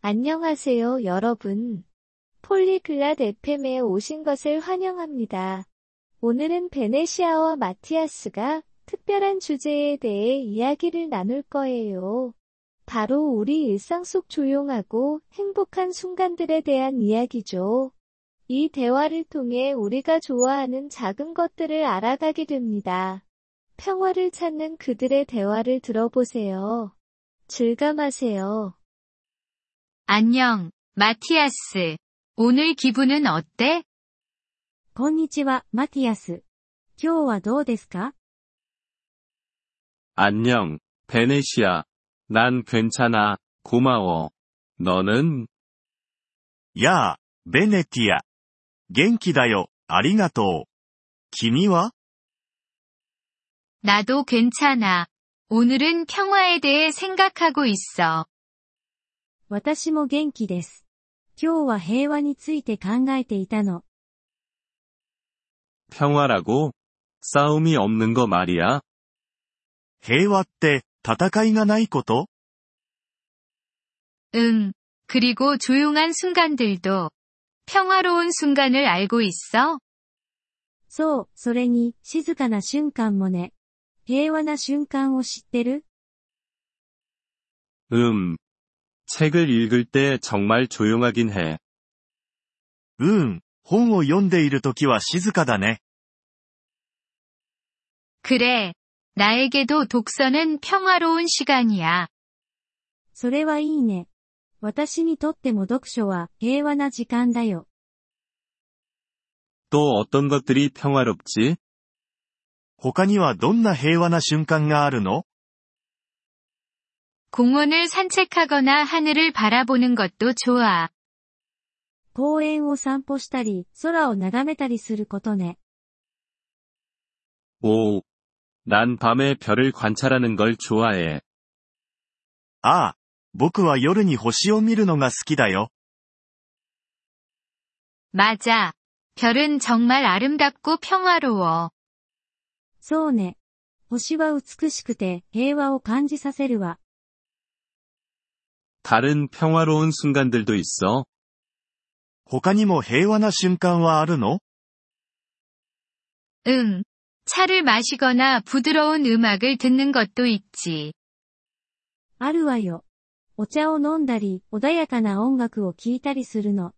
안녕하세요, 여러분. 폴리글랏 FM에 오신 것을 환영합니다. 오늘은 베네시아와 마티아스가 특별한 주제에 대해 이야기를 나눌 거예요. 바로 우리 일상 속 조용하고 행복한 순간들에 대한 이야기죠. 이 대화를 통해 우리가 좋아하는 작은 것들을 알아가게 됩니다. 평화를 찾는 그들의 대화를 들어보세요. 즐감하세요. 안녕, 마티아스. 오늘 기분은 어때? こんにちは、マティアス。今日はどうですか？ 안녕, 베네시아. 난 괜찮아, 고마워. 너는? やあ、ベネティア。元気だよ、ありがとう。君は？ 나도 괜찮아. 오늘은 평화에 대해 생각하고 있어. 私も元気です。今日は平和について考えていたの。 평화라고? 싸움이 없는 거 말이야? 平和って、戦いがないこと？ 응. 그리고 조용한 순간들도 평화로운 순간을 알고 있어? そう、それに、静かな瞬間もね。平和な瞬間を知ってる？ 책을 읽을 때 정말 조용하긴 해. 本を読んでいるときは静かだね。 그래. 나에게도 독서는 평화로운 시간이야. それはいいね。私にとっても読書は平和な時間だよ。 또 어떤 것들이 평화롭지? 他にはどんな平和な瞬間があるの？ 공원을 산책하거나 하늘을 바라보는 것도 좋아. 公園を散歩したり、空を眺めたりすることね。 오. 난 밤에 별을 관찰하는 걸 좋아해. ああ、僕は夜に星を見るのが好きだよ。 맞아. 별은 정말 아름답고 평화로워. そうね。星は美しくて平和を感じさせるわ。 다른 평화로운 순간들도 있어? 他にも平和な瞬間はあるの？ 응. 차를 마시거나 부드러운 음악을 듣는 것도 있지. あるわよ。お茶を飲んだり、穏やかな音楽を聴いたりするの。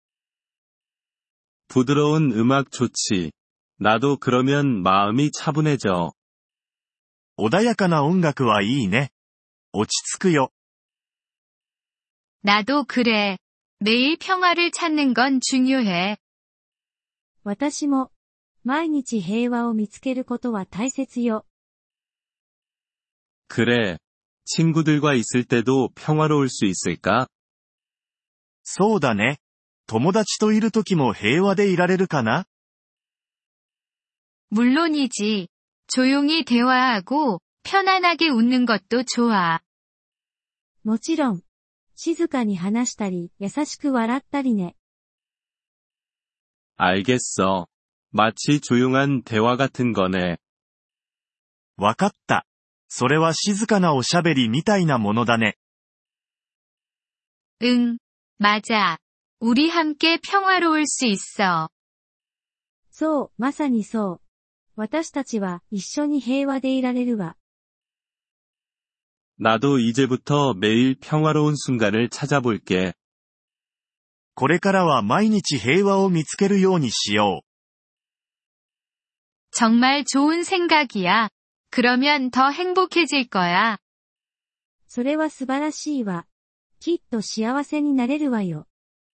부드러운 음악 좋지. 나도 그러면 마음이 차분해져. 穏やかな音楽はいいね。落ち着くよ。 나도 그래. 매일 평화를 찾는 건 중요해. 私も、毎日平和を見つけることは大切よ。 그래. 친구들과 있을 때도 평화로울 수 있을까? そうだね。友達といるときも平和でいられるかな？ 물론이지. 조용히 대화하고 편안하게 웃는 것도 좋아. もちろん、静かに話したり、優しく笑ったりね。 알겠어. 마치 조용한 대화 같은 거네. わかった。それは静かなおしゃべりみたいなものだね。 응. 맞아. 우리 함께 평화로울 수 있어. そう、まさにそう。私たちは一緒に平和でいられるわ。 나도 이제부터 매일 평화로운 순간을 찾아볼게. これからは毎日平和を見つけるようにしよう。 정말 좋은 생각이야. 그러면 더 행복해질 거야. それは素晴らしいわ。きっと幸せになれるわよ。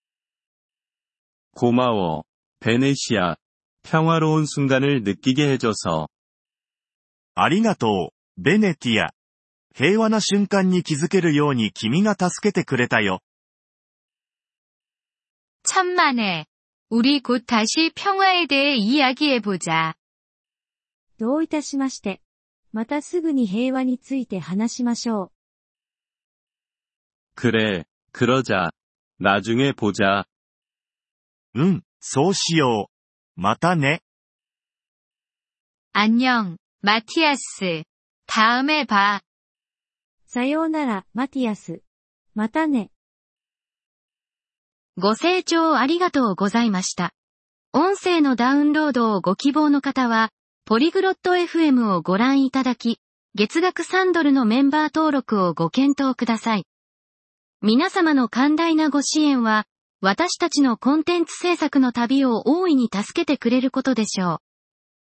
고마워. 베네시아. 평화로운 순간을 느끼게 해줘서. ありがとう、ベネティア。平和な瞬間に気づけるように君が助けてくれたよ。 천만에. 우리 곧 다시 평화에 대해 이야기해보자. どういたしまして。またすぐに平和について話しましょう。 그래, 그러자. 나중에 보자. そうしよう。またね。 안녕, 마티아스. 다음에 봐. さようなら、マティアス。またね。 ご清聴ありがとうございました。音声のダウンロードをご希望の方は、ポリグロット FM をご覧いただき、月額3ドルのメンバー登録をご検討ください。皆様の寛大なご支援は、私たちのコンテンツ制作の旅を大いに助けてくれることでしょう。